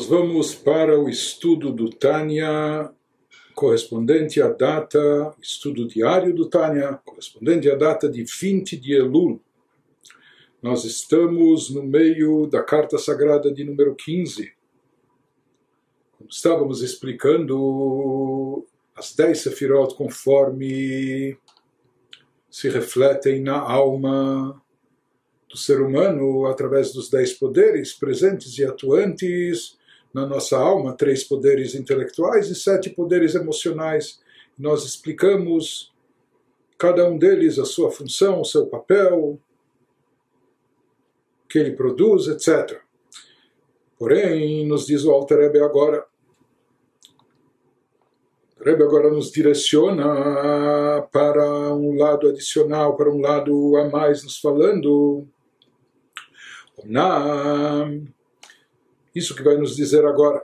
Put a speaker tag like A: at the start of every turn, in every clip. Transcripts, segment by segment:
A: Nós vamos para o estudo do Tânia, correspondente à data, estudo diário do Tânia, correspondente à data de 20 de Elul. Nós estamos no meio da carta sagrada de número 15. Estávamos explicando as 10 sefirot conforme se refletem na alma do ser humano através dos 10 poderes presentes e atuantes na nossa alma, 3 poderes intelectuais e 7 poderes emocionais. Nós explicamos cada um deles, a sua função, o seu papel, o que ele produz, etc. Porém, nos diz o Alter Rebbe agora, o Rebbe agora nos direciona para um lado adicional, para um lado a mais, nos falando isso que vai nos dizer agora.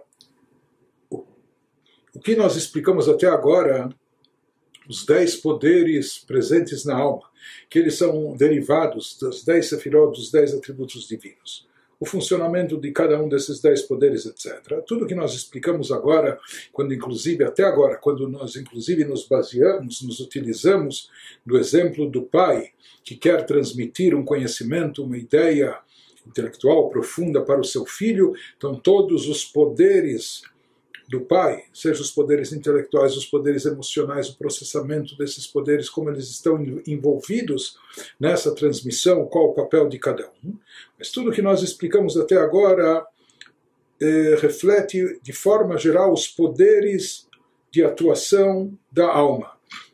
A: O que nós explicamos até agora, os 10 poderes presentes na alma, que eles são derivados das 10 sefirot, dos 10 atributos divinos. O funcionamento de cada um desses 10 poderes, etc. Tudo que nós explicamos agora, quando inclusive, até agora, quando nós inclusive nos baseamos, nos utilizamos do exemplo do pai, que quer transmitir um conhecimento, uma ideia intelectual profunda para o seu filho, então todos os poderes do pai, seja os poderes intelectuais, os poderes emocionais, o processamento desses poderes, como eles estão envolvidos nessa transmissão, qual o papel de cada um. Mas tudo que nós explicamos até agora reflete de forma geral os poderes de atuação da alma.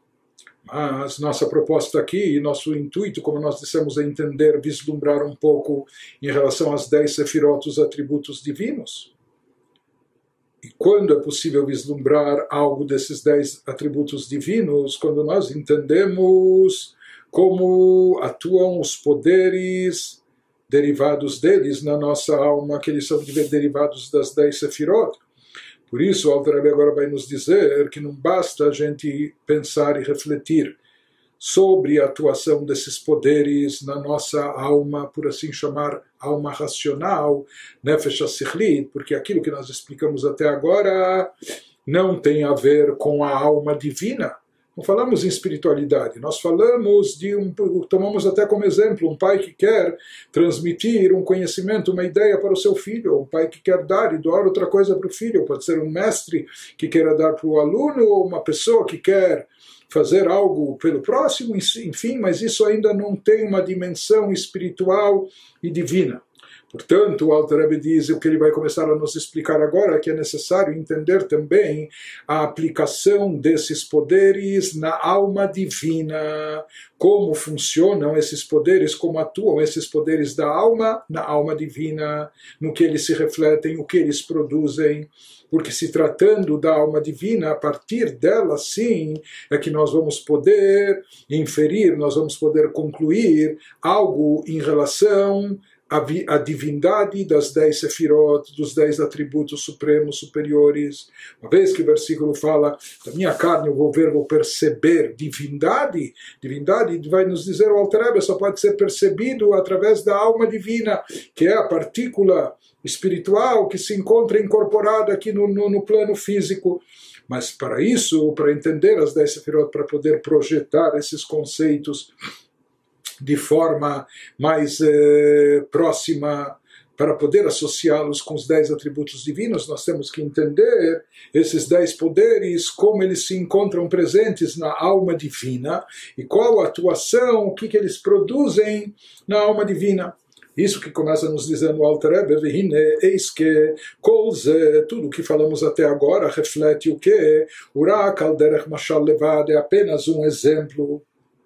A: Mas nossa proposta aqui, nosso intuito, como nós dissemos, é entender, vislumbrar um pouco em relação às 10 sefirot, os atributos divinos. E quando é possível vislumbrar algo desses 10 atributos divinos? Quando nós entendemos como atuam os poderes derivados deles na nossa alma, que eles são derivados das 10 sefirot. Por isso, o Alter Rebbe agora vai nos dizer que não basta a gente pensar e refletir sobre a atuação desses poderes na nossa alma, por assim chamar, alma racional, Nefesh HaSichlit, porque aquilo que nós explicamos até agora não tem a ver com a alma divina. Não falamos em espiritualidade, nós falamos tomamos até como exemplo um pai que quer transmitir um conhecimento, uma ideia para o seu filho, um pai que quer dar e doar outra coisa para o filho, pode ser um mestre que queira dar para o aluno, ou uma pessoa que quer fazer algo pelo próximo, enfim, mas isso ainda não tem uma dimensão espiritual e divina. Portanto, o Alter Rebbe diz, o que ele vai começar a nos explicar agora, que é necessário entender também a aplicação desses poderes na alma divina, como funcionam esses poderes, como atuam esses poderes da alma na alma divina, no que eles se refletem, o que eles produzem. Porque se tratando da alma divina, a partir dela sim, é que nós vamos poder inferir, nós vamos poder concluir algo em relação a divindade das 10 sefirot, dos 10 atributos supremos, superiores. Uma vez que o versículo fala, da minha carne eu vou ver, vou perceber divindade vai nos dizer o Alter Rebbe, só pode ser percebido através da alma divina, que é a partícula espiritual que se encontra incorporada aqui no plano físico. Mas para isso, para entender as 10 sefirot, para poder projetar esses conceitos de forma mais próxima, para poder associá-los com os 10 atributos divinos, nós temos que entender esses 10 poderes, como eles se encontram presentes na alma divina e qual a atuação, o que eles produzem na alma divina. Isso que começa nos dizendo o Alter Rebbe, eis que tudo que falamos até agora reflete o que? Urak al derech mashal levad, é apenas um exemplo.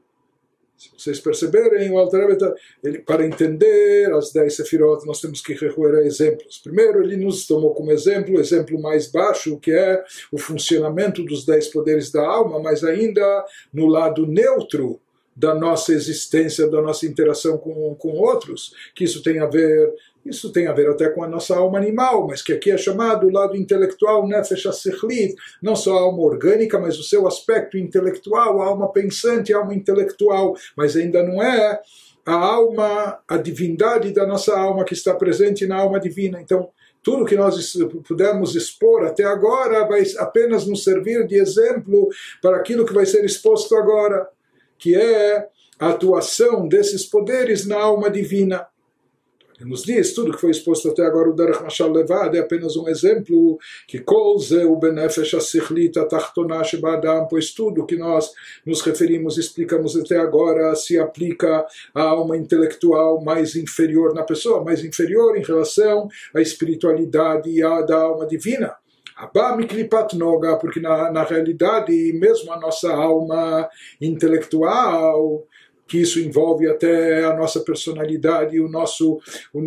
A: Se vocês perceberem, o Alter Rebbe, para entender as 10 sefirot, nós temos que recorrer a exemplos. Primeiro, ele nos tomou como exemplo, o exemplo mais baixo, que é o funcionamento dos 10 poderes da alma, mas ainda no lado neutro da nossa existência, da nossa interação com outros, que isso tem a ver até com a nossa alma animal, mas que aqui é chamado o lado intelectual, Nefesh HaSichlit, não só a alma orgânica, mas o seu aspecto intelectual, a alma pensante, a alma intelectual, mas ainda não é a alma, a divindade da nossa alma que está presente na alma divina. Então, tudo que nós pudemos expor até agora vai apenas nos servir de exemplo para aquilo que vai ser exposto agora, que é a atuação desses poderes na alma divina. Ele nos diz, tudo que foi exposto até agora, o Derech Mashal Levad, é apenas um exemplo, que Kol Zeu Benefesh HaSichlit HaTachtonah Sheba Adam, pois tudo que nós nos referimos, explicamos até agora, se aplica à alma intelectual mais inferior na pessoa, mais inferior em relação à espiritualidade da alma divina. Porque na realidade, mesmo a nossa alma intelectual, que isso envolve até a nossa personalidade, o nosso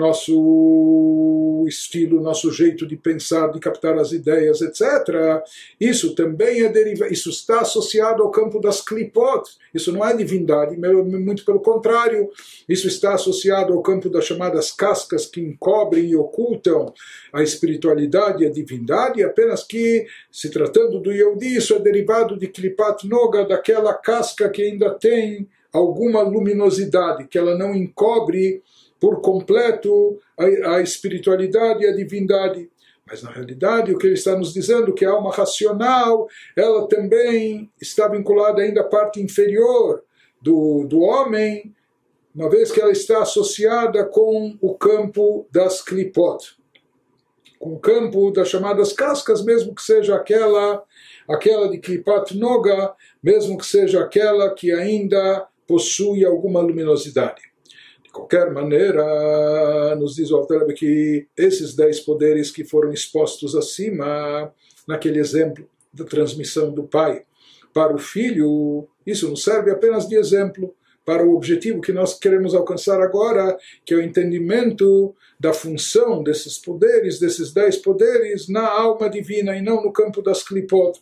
A: estilo, o nosso jeito de pensar, de captar as ideias, etc. Isso também isso está associado ao campo das klipot. Isso não é divindade, muito pelo contrário. Isso está associado ao campo das chamadas cascas que encobrem e ocultam a espiritualidade e a divindade, apenas que, se tratando do Yehudi, isso é derivado de klipat noga, daquela casca que ainda tem alguma luminosidade, que ela não encobre por completo a espiritualidade e a divindade. Mas na realidade o que ele está nos dizendo é que a alma racional, ela também está vinculada ainda à parte inferior do homem, uma vez que ela está associada com o campo das klipot, com o campo das chamadas cascas, mesmo que seja aquela de klipat noga, mesmo que seja aquela que ainda possui alguma luminosidade. De qualquer maneira, nos diz o Alter Rebbe que esses 10 poderes que foram expostos acima, naquele exemplo da transmissão do pai para o filho, isso nos serve apenas de exemplo para o objetivo que nós queremos alcançar agora, que é o entendimento da função desses poderes, desses 10 poderes, na alma divina e não no campo das klipot.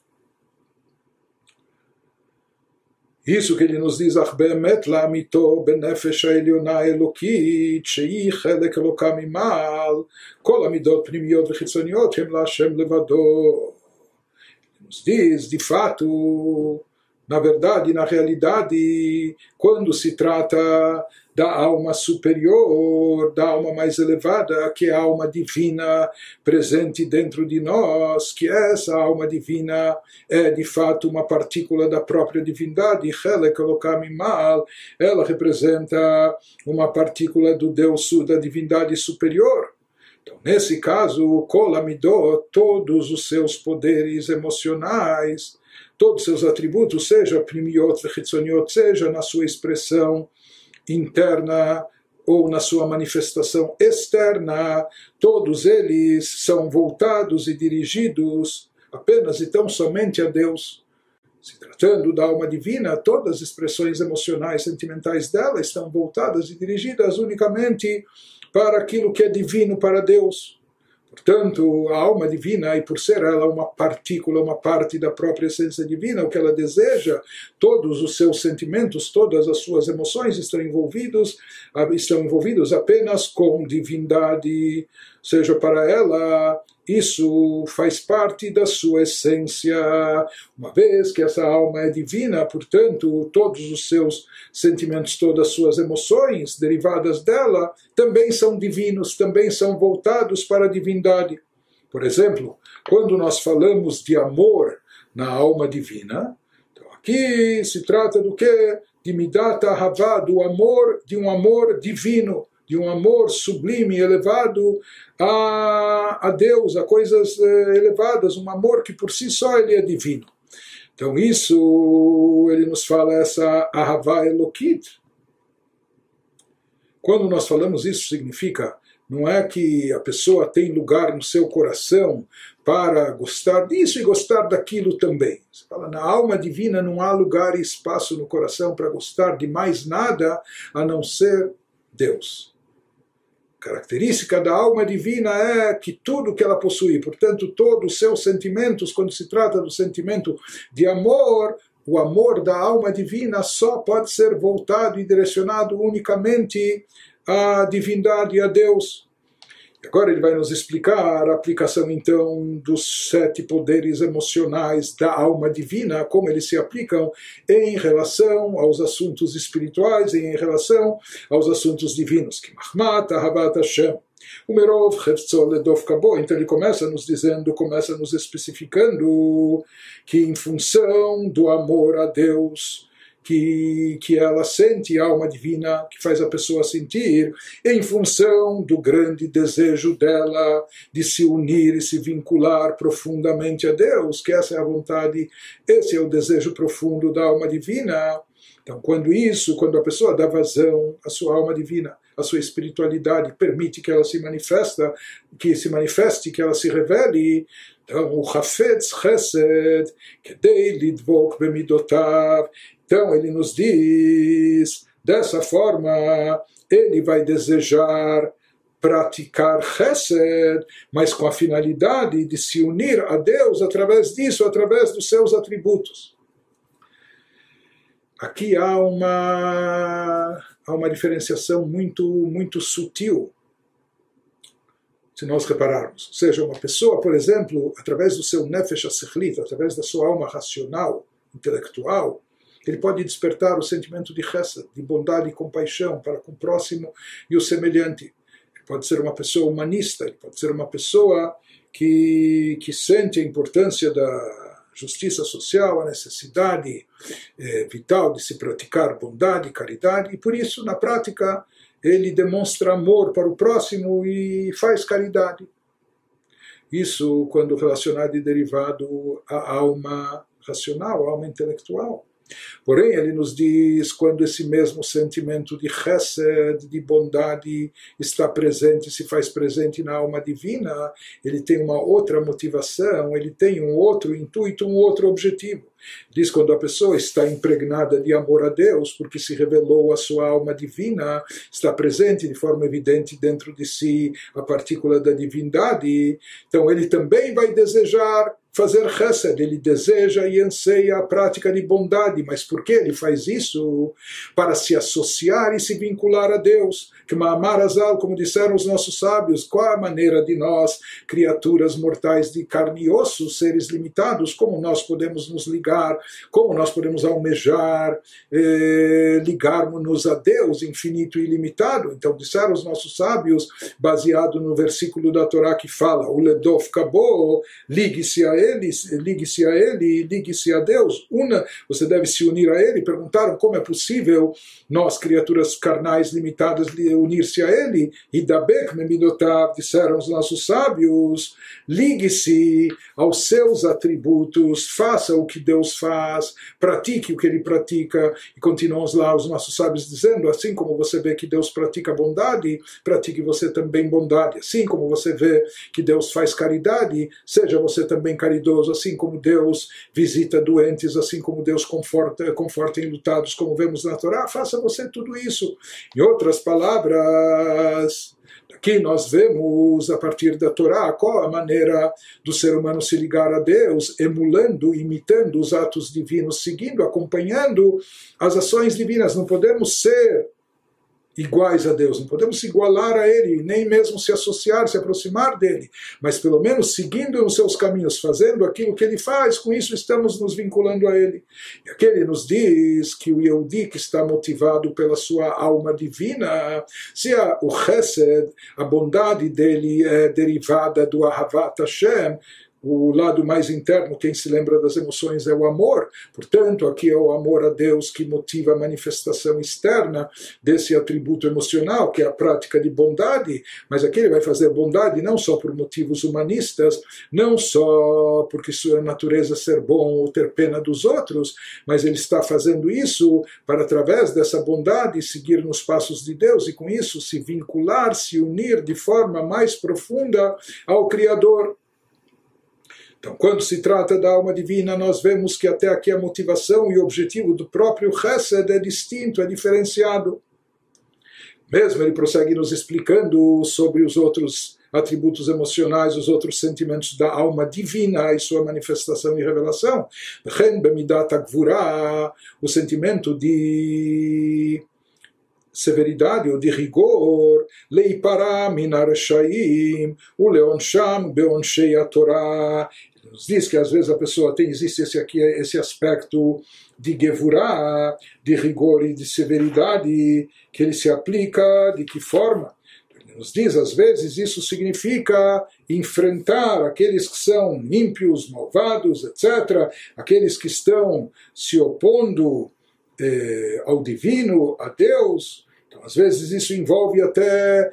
A: Isso que ele nos diz, Ach be'emet la'amito benefesh ha'elyona elokit, shehi chelek eloka mimal, kol amidot pnimiot vechitzoniot hem la'Hashem levado. Ele nos diz, de fato, na verdade, na realidade, quando se trata da alma superior, da alma mais elevada, que é a alma divina presente dentro de nós, que essa alma divina é de fato uma partícula da própria divindade, ela representa uma partícula do Deus, da divindade superior. Então, nesse caso, Kol Amidot, todos os seus poderes emocionais, todos os seus atributos, seja primiot vechitzoniot, seja na sua expressão interna ou na sua manifestação externa, todos eles são voltados e dirigidos apenas e tão somente a Deus. Se tratando da alma divina, todas as expressões emocionais, sentimentais dela estão voltadas e dirigidas unicamente para aquilo que é divino para Deus. Portanto, a alma divina, e por ser ela uma partícula, uma parte da própria essência divina, o que ela deseja, todos os seus sentimentos, todas as suas emoções estão envolvidos apenas com divindade. Ou seja, para ela, isso faz parte da sua essência. Uma vez que essa alma é divina, portanto, todos os seus sentimentos, todas as suas emoções derivadas dela, também são divinos, também são voltados para a divindade. Por exemplo, quando nós falamos de amor na alma divina, então aqui se trata do quê? De Midat Ahavá, de um amor divino, de um amor sublime, elevado a Deus, a coisas elevadas, um amor que por si só ele é divino. Então isso, ele nos fala essa Ahavá Elokit. Quando nós falamos isso, significa, não é que a pessoa tem lugar no seu coração para gostar disso e gostar daquilo também. Você fala, na alma divina não há lugar e espaço no coração para gostar de mais nada a não ser Deus. A característica da alma divina é que tudo que ela possui, portanto, todos os seus sentimentos, quando se trata do sentimento de amor, o amor da alma divina só pode ser voltado e direcionado unicamente à divindade, a Deus. Agora ele vai nos explicar a aplicação então dos 7 poderes emocionais da alma divina, como eles se aplicam em relação aos assuntos espirituais e em relação aos assuntos divinos. Que Mahmat Ahavat Hashem, Umerov Heftzol Ledov Kabo. Então ele começa nos dizendo, começa nos especificando que em função do amor a Deus que ela sente, a alma divina que faz a pessoa sentir, em função do grande desejo dela de se unir e se vincular profundamente a Deus, que essa é a vontade, esse é o desejo profundo da alma divina. Então, quando a pessoa dá vazão à sua alma divina, à sua espiritualidade, permite que ela se manifeste, que ela se revele, então, o Hafetz Chesed, Kedei Lidvok Bemidotav. Então, ele nos diz, dessa forma, ele vai desejar praticar Chesed, mas com a finalidade de se unir a Deus através disso, através dos seus atributos. Aqui há uma diferenciação muito sutil, se nós repararmos. Ou seja, uma pessoa, por exemplo, através do seu Nefesh HaSechlit, através da sua alma racional, intelectual, ele pode despertar o sentimento de Chesed, de bondade e compaixão para com o próximo e o semelhante. Ele pode ser uma pessoa humanista, ele pode ser uma pessoa que sente a importância da justiça social, a necessidade vital de se praticar bondade, caridade, e por isso, na prática, ele demonstra amor para o próximo e faz caridade. Isso quando relacionado e derivado à alma racional, à alma intelectual. Porém, ele nos diz, quando esse mesmo sentimento de chesed, de bondade, está presente, se faz presente na alma divina, ele tem uma outra motivação, ele tem um outro intuito, um outro objetivo. Diz quando a pessoa está impregnada de amor a Deus, porque se revelou a sua alma divina, está presente de forma evidente dentro de si a partícula da divindade, então ele também vai desejar fazer chesed, ele deseja e anseia a prática de bondade, mas por que ele faz isso? Para se associar e se vincular a Deus. Que Ma'amar Azal, como disseram os nossos sábios, qual a maneira de nós, criaturas mortais de carne e osso, seres limitados, como nós podemos nos ligar, como nós podemos almejar, ligarmos-nos a Deus infinito e ilimitado? Então disseram os nossos sábios, baseado no versículo da Torá que fala, o Ledov Kabo, ligue-se a ele, ligue-se a Deus. Você deve se unir a ele. Perguntaram como é possível nós, criaturas carnais limitadas, unir-se a ele. E Dabek Memidotav, disseram os nossos sábios, ligue-se aos seus atributos, faça o que Deus faz, pratique o que ele pratica. E continuam lá os nossos sábios dizendo, assim como você vê que Deus pratica bondade, pratique você também bondade. Assim como você vê que Deus faz caridade, seja você também caridoso, assim como Deus visita doentes, assim como Deus conforta enlutados, como vemos na Torá, faça você tudo isso. Em outras palavras, aqui nós vemos, a partir da Torá, qual a maneira do ser humano se ligar a Deus, emulando, imitando os atos divinos, seguindo, acompanhando as ações divinas. Não podemos ser iguais a Deus, não podemos se igualar a Ele, nem mesmo se associar, se aproximar dEle, mas pelo menos seguindo nos seus caminhos, fazendo aquilo que Ele faz, com isso estamos nos vinculando a Ele. E aqui Ele nos diz que o Yehudi, que está motivado pela sua alma divina, se o Chesed, a bondade dele é derivada do Ahavat Hashem, o lado mais interno, quem se lembra das emoções, é o amor. Portanto, aqui é o amor a Deus que motiva a manifestação externa desse atributo emocional, que é a prática de bondade. Mas aqui ele vai fazer bondade não só por motivos humanistas, não só porque sua natureza é ser bom ou ter pena dos outros, mas ele está fazendo isso para, através dessa bondade, seguir nos passos de Deus e, com isso, se vincular, se unir de forma mais profunda ao Criador. Então, quando se trata da alma divina, nós vemos que até aqui a motivação e o objetivo do próprio Chesed é distinto, é diferenciado. Mesmo ele prossegue nos explicando sobre os outros atributos emocionais, os outros sentimentos da alma divina e sua manifestação e revelação. O sentimento de severidade ou de rigor, leipará minar shaim, o leonsham beonshei a Torá. Ele nos diz que às vezes a pessoa existe esse aspecto de gevurá, de rigor e de severidade, que ele se aplica de que forma? Ele nos diz, às vezes, isso significa enfrentar aqueles que são ímpios, malvados, etc., aqueles que estão se opondo ao divino, a Deus. Então, às vezes isso envolve até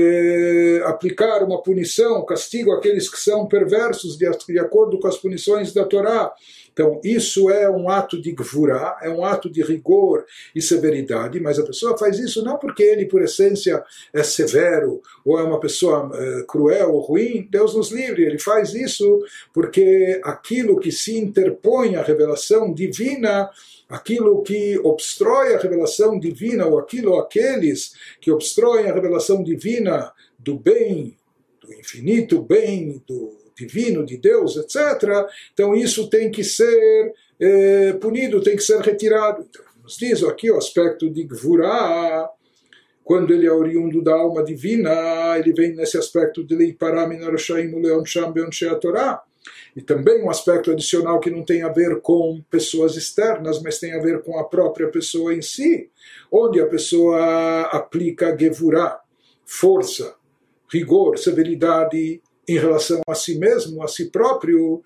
A: aplicar uma punição, castigo àqueles que são perversos de acordo com as punições da Torá. Então, isso é um ato de gvurá, é um ato de rigor e severidade, mas a pessoa faz isso não porque ele, por essência, é severo ou é uma pessoa cruel ou ruim. Deus nos livre, ele faz isso porque aquilo que se interpõe à revelação divina, aquilo que obstrói a revelação divina, ou aqueles que obstroem a revelação divina do bem, do infinito bem, do divino, de Deus, etc., então isso tem que ser punido, tem que ser retirado. Então, nos diz aqui o aspecto de Gvurá, quando ele é oriundo da alma divina, ele vem nesse aspecto de Leipará min harashaim uleonsham beonshei Torá. E também um aspecto adicional que não tem a ver com pessoas externas, mas tem a ver com a própria pessoa em si, onde a pessoa aplica Gevurá, força, rigor, severidade em relação a si mesmo, a si próprio,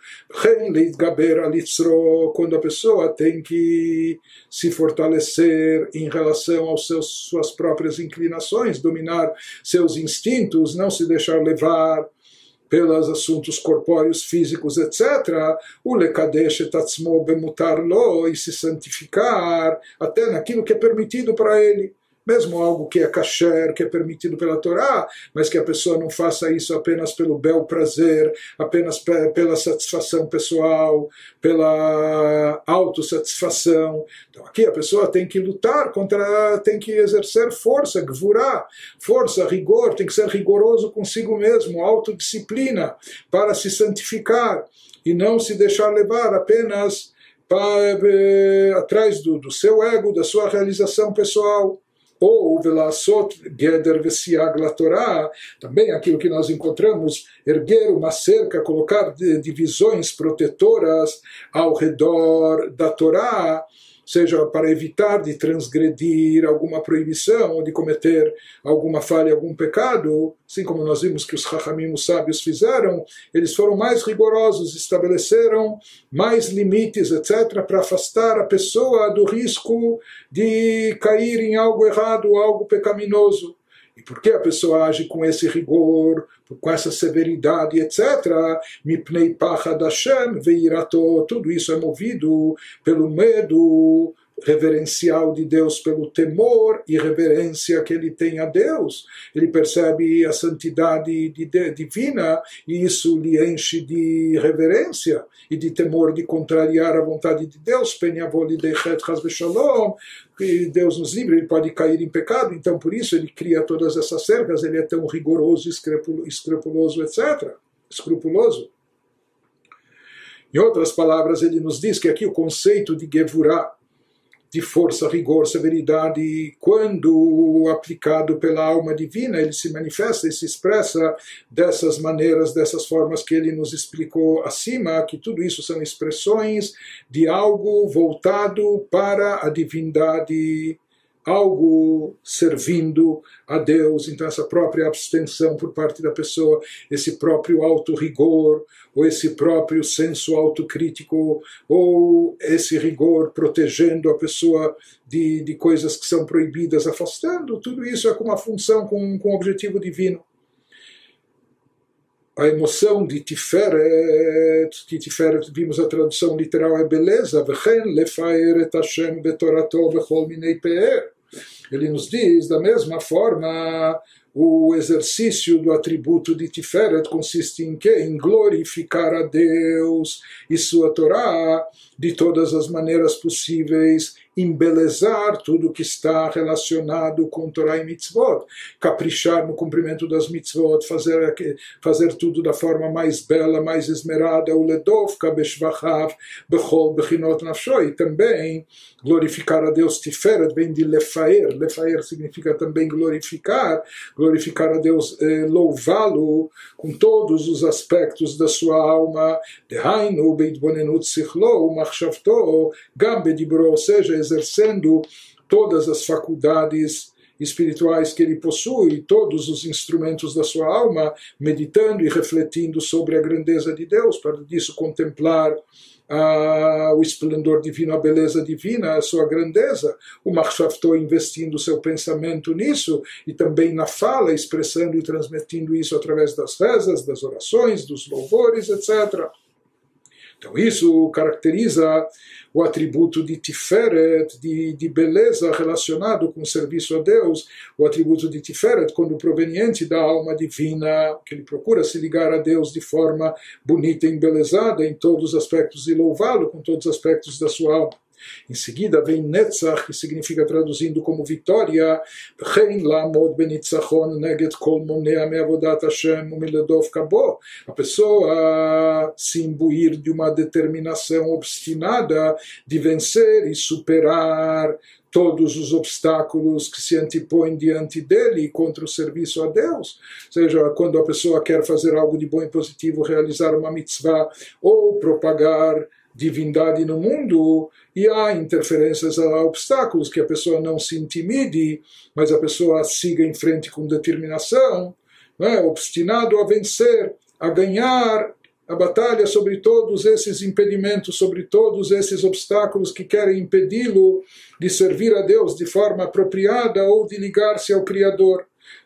A: quando a pessoa tem que se fortalecer em relação aos suas próprias inclinações, dominar seus instintos, não se deixar levar pelos assuntos corpóreos, físicos, etc., o lekadesh et atzmo bemutar lo, e se santificar até naquilo que é permitido para ele. Mesmo algo que é kasher, que é permitido pela Torá, mas que a pessoa não faça isso apenas pelo bel prazer, apenas pela satisfação pessoal, pela autossatisfação. Então aqui a pessoa tem que lutar contra, tem que exercer força, gvurá, força, rigor, tem que ser rigoroso consigo mesmo, autodisciplina, para se santificar e não se deixar levar apenas atrás do seu ego, da sua realização pessoal. Ou velasot geder vesiag la Torá, também aquilo que nós encontramos, erguer uma cerca, colocar divisões protetoras ao redor da Torá, seja para evitar de transgredir alguma proibição ou de cometer alguma falha, algum pecado, assim como nós vimos que os Chachamim, os sábios, fizeram, eles foram mais rigorosos, estabeleceram mais limites, etc., para afastar a pessoa do risco de cair em algo errado, algo pecaminoso. E por que a pessoa age com esse rigor, com essa severidade, etc.? Mipnei pachad Hashem veirato, tudo isso é movido pelo medo reverencial de Deus, pelo temor e reverência que ele tem a Deus. Ele percebe a santidade divina e isso lhe enche de reverência e de temor de contrariar a vontade de Deus. Que Deus nos livre, ele pode cair em pecado, então por isso ele cria todas essas cercas, ele é tão rigoroso, escrupuloso, etc. Escrupuloso. Em outras palavras, ele nos diz que aqui o conceito de Gevurá, de força, rigor, severidade, quando aplicado pela alma divina, ele se manifesta e se expressa dessas maneiras, dessas formas que ele nos explicou acima, que tudo isso são expressões de algo voltado para a divindade, algo servindo a Deus. Então essa própria abstenção por parte da pessoa, esse próprio auto-rigor, ou esse próprio senso autocrítico, ou esse rigor protegendo a pessoa de coisas que são proibidas, afastando, tudo isso é com uma função, com um objetivo divino. A emoção de Tiferet, que Tiferet, vimos a tradução literal, é beleza. Ele nos diz, da mesma forma, o exercício do atributo de Tiferet consiste em quê? Em glorificar a Deus e sua Torá de todas as maneiras possíveis, embelezar tudo que está relacionado com Torá e Mitzvot, caprichar no cumprimento das Mitzvot, fazer tudo da forma mais bela, mais esmerada, o ledovka beshvachav bechol bechinot nafsho, e também glorificar a Deus. Tiferet vem de lefaer, lefaer significa também glorificar a Deus, louvá-lo com todos os aspectos da sua alma, dehainu beitbonenut sichlo machshavto gam bedibro, ou seja, exercendo todas as faculdades espirituais que ele possui, todos os instrumentos da sua alma, meditando e refletindo sobre a grandeza de Deus, para disso contemplar o esplendor divino, a beleza divina, a sua grandeza. O Machshavto investindo seu pensamento nisso, e também na fala, expressando e transmitindo isso através das rezas, das orações, dos louvores, etc. Então isso caracteriza o atributo de Tiferet, de beleza relacionado com o serviço a Deus, o atributo de Tiferet, quando proveniente da alma divina, que ele procura se ligar a Deus de forma bonita e embelezada em todos os aspectos e louvá-lo com todos os aspectos da sua alma. Em seguida vem Netzach, que significa, traduzindo como vitória, a pessoa se imbuir de uma determinação obstinada de vencer e superar todos os obstáculos que se antipõem diante dele contra o serviço a Deus. Ou seja, quando a pessoa quer fazer algo de bom e positivo, realizar uma mitzvah ou propagar divindade no mundo, e há interferências, há obstáculos, que a pessoa não se intimide, mas a pessoa siga em frente com determinação, obstinado a vencer, a ganhar a batalha sobre todos esses impedimentos, sobre todos esses obstáculos que querem impedi-lo de servir a Deus de forma apropriada ou de ligar-se ao Criador.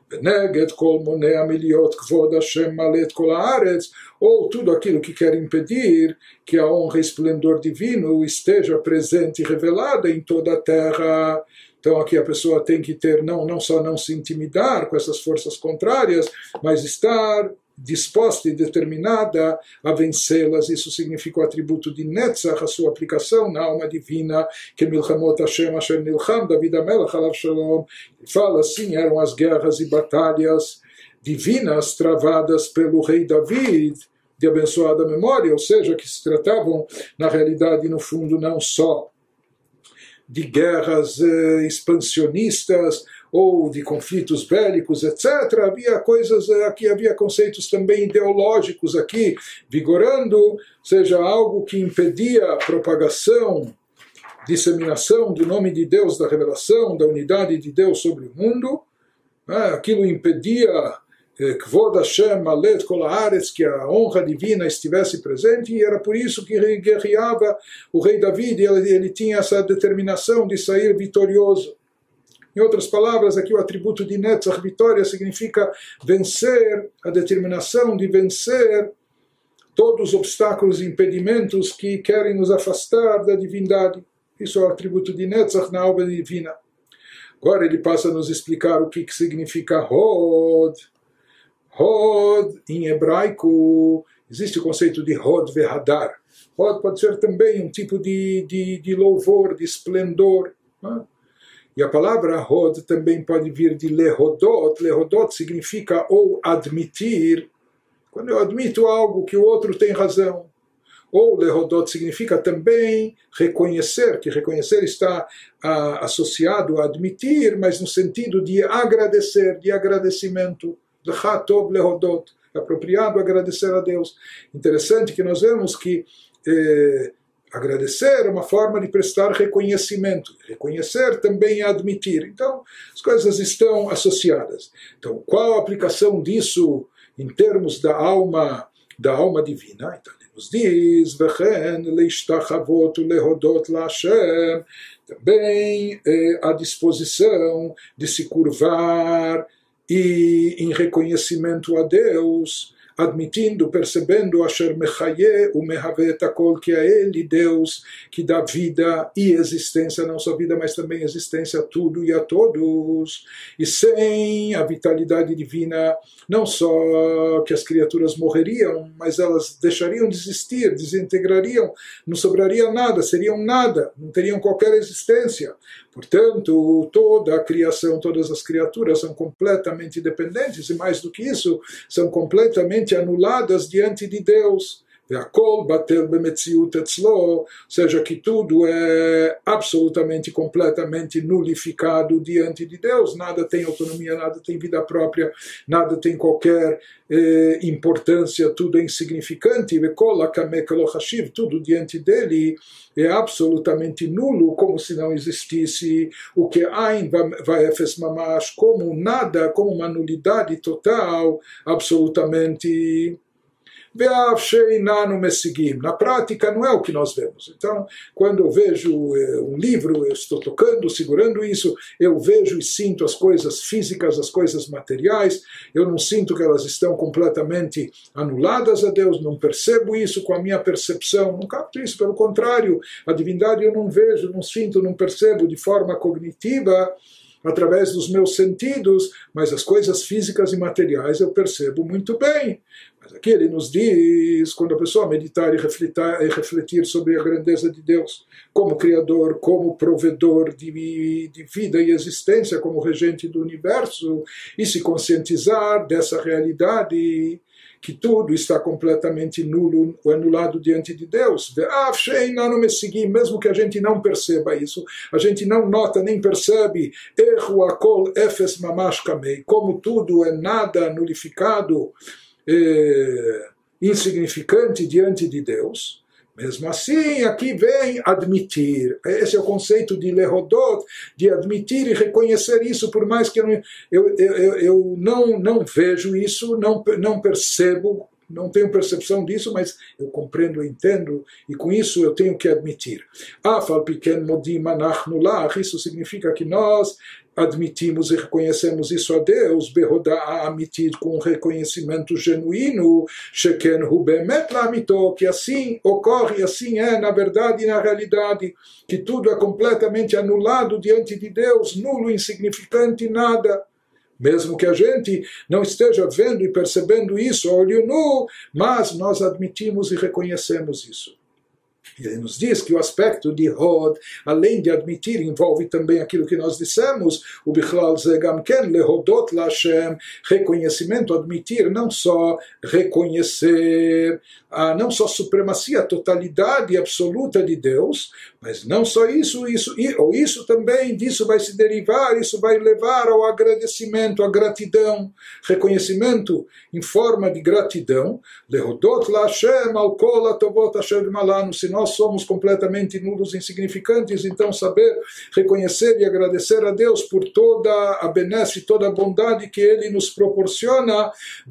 A: Ou tudo aquilo que quer impedir que a honra e esplendor divino esteja presente e revelada em toda a terra. Então aqui a pessoa tem que ter, não só não se intimidar com essas forças contrárias, mas estar disposta e determinada a vencê-las. Isso significa o atributo de Netzach, a sua aplicação na alma divina, que Milchamot Hashem Asher Nilcham David HaMelech Alav Shalom. Fala assim, eram as guerras e batalhas divinas travadas pelo rei David, de abençoada memória, ou seja, que se tratavam, na realidade, no fundo, não só de guerras expansionistas, ou de conflitos bélicos, etc. Havia coisas aqui, havia conceitos também ideológicos aqui vigorando, ou seja, algo que impedia a propagação, disseminação do nome de Deus, da revelação, da unidade de Deus sobre o mundo. Aquilo impedia Kvod Hashem Malet Kol Haaretz, que a honra divina estivesse presente, e era por isso que guerreava o rei David, e ele tinha essa determinação de sair vitorioso. Em outras palavras, aqui o atributo de Netzach, vitória, significa vencer, a determinação de vencer todos os obstáculos e impedimentos que querem nos afastar da divindade. Isso é o atributo de Netzach na alma divina. Agora ele passa a nos explicar o que significa Hod. Hod, em hebraico, existe o conceito de Hod Vehadar. Hod pode ser também um tipo de louvor, de esplendor, E a palavra Hod também pode vir de Lehodot. Lehodot significa ou admitir, quando eu admito algo que o outro tem razão. Ou Lehodot significa também reconhecer, que reconhecer está associado a admitir, mas no sentido de agradecer, de agradecimento. Lechatov Lehodot, é apropriado agradecer a Deus. Interessante que nós vemos que agradecer é uma forma de prestar reconhecimento. Reconhecer também é admitir. Então, as coisas estão associadas. Então, qual a aplicação disso em termos da alma divina? Então, ele nos diz, Vechen leishtachavot lehodot laHashem, também a disposição de se curvar e em reconhecimento a Deus, admitindo, percebendo Asher Mechaye uMehavet Akol, que é Ele, Deus, que dá vida e existência, não só vida, mas também existência a tudo e a todos. E sem a vitalidade divina, não só que as criaturas morreriam, mas elas deixariam de existir, desintegrariam, não sobraria nada, seriam nada, não teriam qualquer existência. Portanto, toda a criação, todas as criaturas são completamente dependentes, e mais do que isso, são completamente anuladas diante de Deus. והכל בטל במציאות אצלו, ou seja, que tudo é absolutamente, completamente nulificado diante de Deus, nada tem autonomia, nada tem vida própria, nada tem qualquer importância, tudo é insignificante, tudo diante dele é absolutamente nulo, como se não existisse, o que Ain vai efes mamash, como nada, como uma nulidade total, absolutamente. Na prática não é o que nós vemos. Então, quando eu vejo um livro, eu estou tocando, segurando isso, eu vejo e sinto as coisas físicas, as coisas materiais, eu não sinto que elas estão completamente anuladas a Deus, não percebo isso com a minha percepção, não capto isso, pelo contrário, a divindade eu não vejo, não sinto, não percebo de forma cognitiva, através dos meus sentidos, mas as coisas físicas e materiais eu percebo muito bem. Mas aqui ele nos diz, quando a pessoa meditar e refletir sobre a grandeza de Deus, como Criador, como provedor de vida e existência, como regente do universo, e se conscientizar dessa realidade, que tudo está completamente nulo ou anulado diante de Deus. Mesmo que a gente não perceba isso, a gente não nota nem percebe, como tudo é nada nulificado, insignificante diante de Deus. Mesmo assim, aqui vem admitir. Esse é o conceito de lehodot, de admitir e reconhecer isso, por mais que eu não vejo isso, não percebo, não tenho percepção disso, mas eu compreendo, eu entendo, e com isso eu tenho que admitir. Isso significa que nós admitimos e reconhecemos isso a Deus, com um reconhecimento genuíno, que assim ocorre, assim é na verdade e na realidade, que tudo é completamente anulado diante de Deus, nulo, insignificante, nada. Mesmo que a gente não esteja vendo e percebendo isso a olho nu, mas nós admitimos e reconhecemos isso. Ele nos diz que o aspecto de Hod, além de admitir, envolve também aquilo que nós dissemos, o Bichlal Ze Gam Ken Lehodot Lashem, reconhecimento, admitir, não só reconhecer, não só a supremacia, a totalidade absoluta de Deus, mas não só isso também, disso vai se derivar, isso vai levar ao agradecimento, à gratidão, reconhecimento em forma de gratidão, Lehodot Lashem Al Kol Atovot Asher Malanu, se nós somos completamente nulos e insignificantes, então saber reconhecer e agradecer a Deus por toda a benesse, toda a bondade que Ele nos proporciona,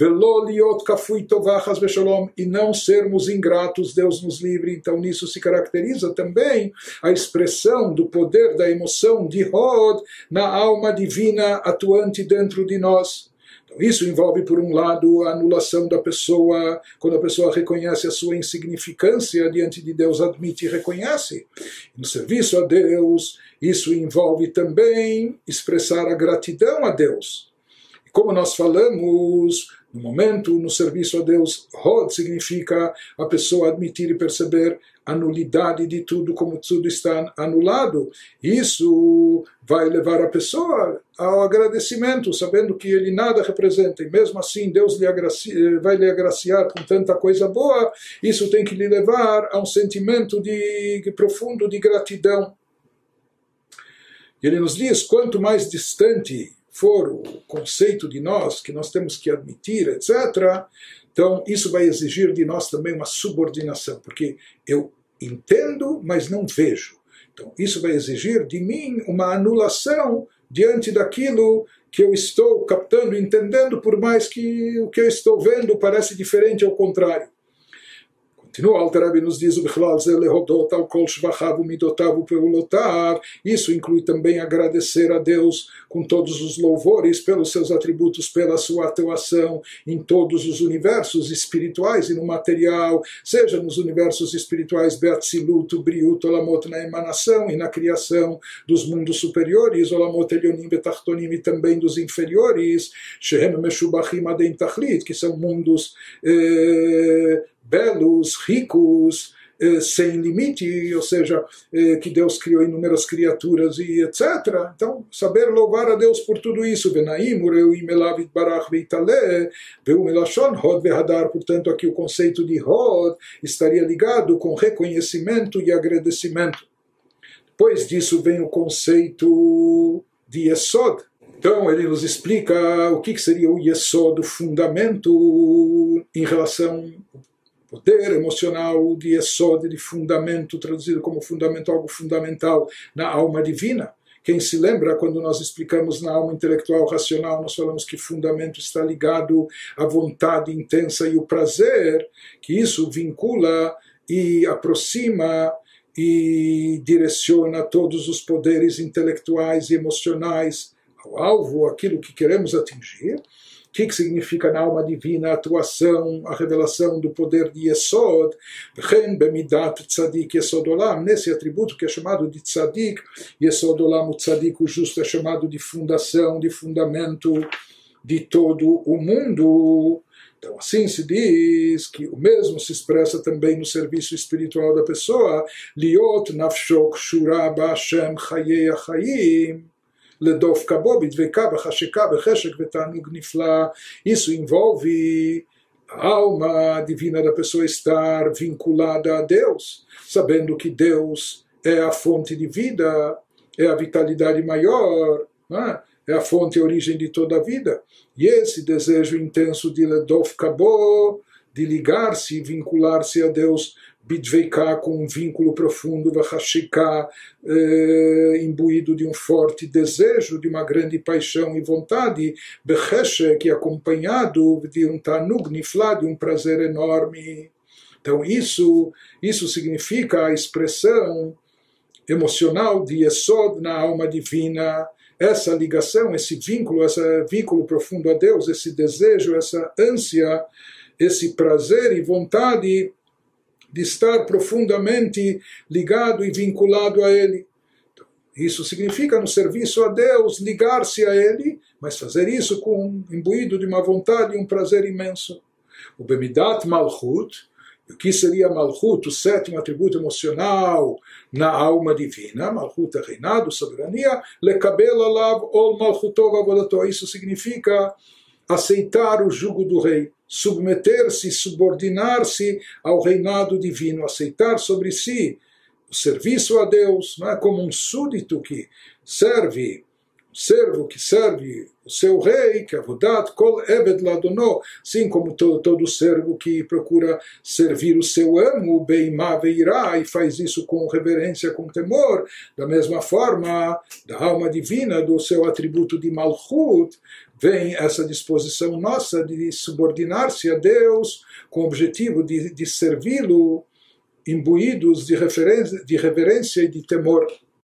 A: e não sermos ingratos, Deus nos livre. Então nisso se caracteriza também a expressão do poder da emoção de Hod na alma divina atuante dentro de nós. Isso envolve, por um lado, a anulação da pessoa, quando a pessoa reconhece a sua insignificância diante de Deus, admite e reconhece. No serviço a Deus, isso envolve também expressar a gratidão a Deus. E como nós falamos, no momento, no serviço a Deus, Hod significa a pessoa admitir e perceber a nulidade de tudo, como tudo está anulado. Isso vai levar a pessoa ao agradecimento, sabendo que ele nada representa, e mesmo assim Deus vai lhe agraciar com tanta coisa boa. Isso tem que lhe levar a um sentimento profundo de gratidão. Ele nos diz, quanto mais distante for o conceito de nós, que nós temos que admitir, etc., então isso vai exigir de nós também uma subordinação, porque eu entendo, mas não vejo. Então isso vai exigir de mim uma anulação diante daquilo que eu estou captando, entendendo, por mais que o que eu estou vendo parece diferente, ao contrário. Continua, Alter Rebbe nos diz, isso inclui também agradecer a Deus com todos os louvores pelos seus atributos, pela sua atuação em todos os universos espirituais e no material, seja nos universos espirituais Beatzilut, Briut, Olamot, na emanação e na criação dos mundos superiores, Olamot Elyonim Betachtonim, e também dos inferiores, Shehem Meshubachim Adein Tachlit, que são mundos belos, ricos, sem limite, ou seja, que Deus criou inúmeras criaturas e etc. Então, saber louvar a Deus por tudo isso. Portanto, aqui o conceito de Hod estaria ligado com reconhecimento e agradecimento. Depois disso vem o conceito de Yesod. Então ele nos explica o que seria o Yesod, o fundamento em relação ao poder emocional de Yesod, de fundamento, traduzido como fundamento, algo fundamental na alma divina. Quem se lembra, quando nós explicamos na alma intelectual racional, nós falamos que fundamento está ligado à vontade intensa e o prazer, que isso vincula e aproxima e direciona todos os poderes intelectuais e emocionais ao alvo, aquilo que queremos atingir. O que significa na alma divina a atuação, a revelação do poder de Yesod, nesse atributo que é chamado de Tzadik, Yesod Olam, o Tzadik, o justo, é chamado de fundação, de fundamento de todo o mundo. Então, assim se diz que o mesmo se expressa também no serviço espiritual da pessoa. Liot nafshok shura ba'Hashem chayei achayim ledof kabo bidveka b'chasheka b'cheshek v'tanug nifla. Isso envolve a alma divina da pessoa estar vinculada a Deus, sabendo que Deus é a fonte de vida, é a vitalidade maior, não é? É a fonte e a origem de toda a vida. E esse desejo intenso de Ledof Kabo, de ligar-se, vincular-se a Deus, Bidveiká, com um vínculo profundo, Vachashika, imbuído de um forte desejo, de uma grande paixão e vontade, Becheshek, acompanhado de um Tanug Niflá, de um prazer enorme. Então isso significa a expressão emocional de Yesod na alma divina, essa ligação, esse vínculo profundo a Deus, esse desejo, essa ânsia, esse prazer e vontade de estar profundamente ligado e vinculado a Ele. Então, isso significa, no serviço a Deus, ligar-se a Ele, mas fazer isso imbuído de uma vontade e um prazer imenso. O Bemidat Malchut, o que seria Malchut, o sétimo atributo emocional na alma divina, Malchut é reinado, soberania, lekabel alav ol malchutov avodato. Isso significa aceitar o jugo do rei, submeter-se, subordinar-se ao reinado divino, aceitar sobre si o serviço a Deus, não é como um súdito que serve, um servo que serve o seu rei, que é avodat kol eved ladono, assim como todo servo que procura servir o seu amo, beimá veirá, e faz isso com reverência, com temor. Da mesma forma, da alma divina, do seu atributo de malchut, vem essa disposição nossa de subordinar-se a Deus com o objetivo de servi-lo, imbuídos de reverência e de temor.